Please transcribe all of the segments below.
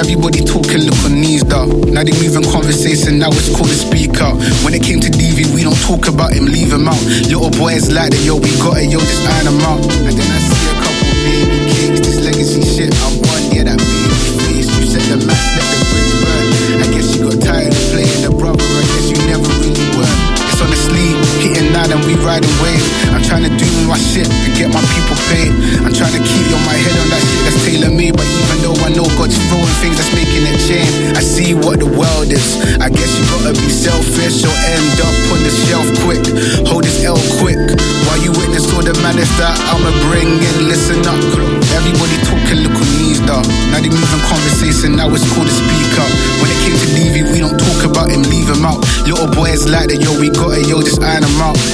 Everybody talking, look on knees though. Now they moving conversation, now it's called a speak out. When it came to DV, we don't talk about him, leave him out. Little boys like that, yo, we got it, yo, just iron him out. And then I see a couple baby cakes, this legacy shit, I'm on, yeah, that baby face. You said the match, let the bridge burn. I guess you got tired of playing the brother, I guess you never really were. It's on the sleeve, hitting now and we riding wave. I'm trying to do my shit and get my people paid. I'm trying to keep on my head on that shit that's tailor-made. But even though I know God's throwing things that's making it change, I see what the world is. I guess you gotta be selfish or end up on the shelf quick. Hold this L quick while you witness all the madness that I'ma bring in. Listen up, everybody talking, look on knees though. Now they moving conversation, now it's called a speak up. When it came to DV, we don't talk about him, leave him out. Little boys like that, yo, we got it, yo, just iron him out.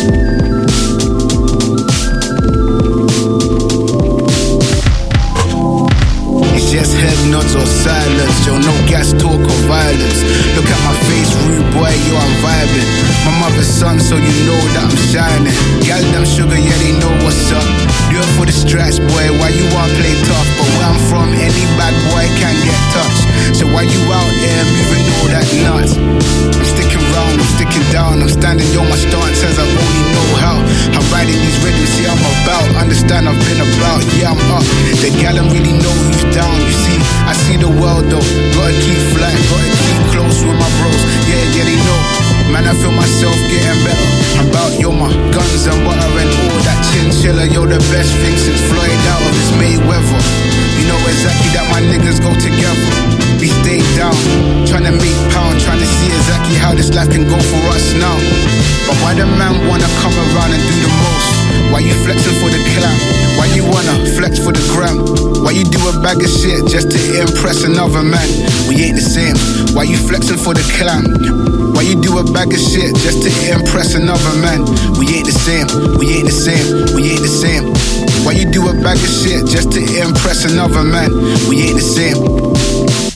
Just head nods or silence, yo, no gas talk or violence. Look at my face, rude boy, yo, I'm vibing. My mother's son, so you know that I'm shining. Gal them sugar, yeah, they know what's up. Do it for the stripes, boy, why you wanna play tough? But where I'm from, any bad boy can get touched. So why you out there moving all that nuts? I'm sticking round, I'm sticking down, I'm standing, yo, my stance says I only know how. I'm riding these rhythms, see I'm about. Understand I've been about, yeah, I'm up. The gal don't really know who's down. You see, I see the world though. Gotta keep flying, gotta keep close with my bros. Yeah, they know. Man, I feel myself getting better. I'm about, yo, my guns and butter and all that chinchilla. Yo, the best thing since Floyd out of this Mayweather. You know exactly that my niggas go together. We stay down, trying to make pound, trying to see exactly how this life can go for us now. But why the man wanna come around and do the most? Why you flexing for the clout? Why you wanna flex for the gram? Why you do a bag of shit just to impress another man? We ain't the same. Why you flexing for the clout? Why you do a bag of shit just to impress another man? We ain't the same. We ain't the same. We ain't the same. Why you do a bag of shit just to impress another man? We ain't the same.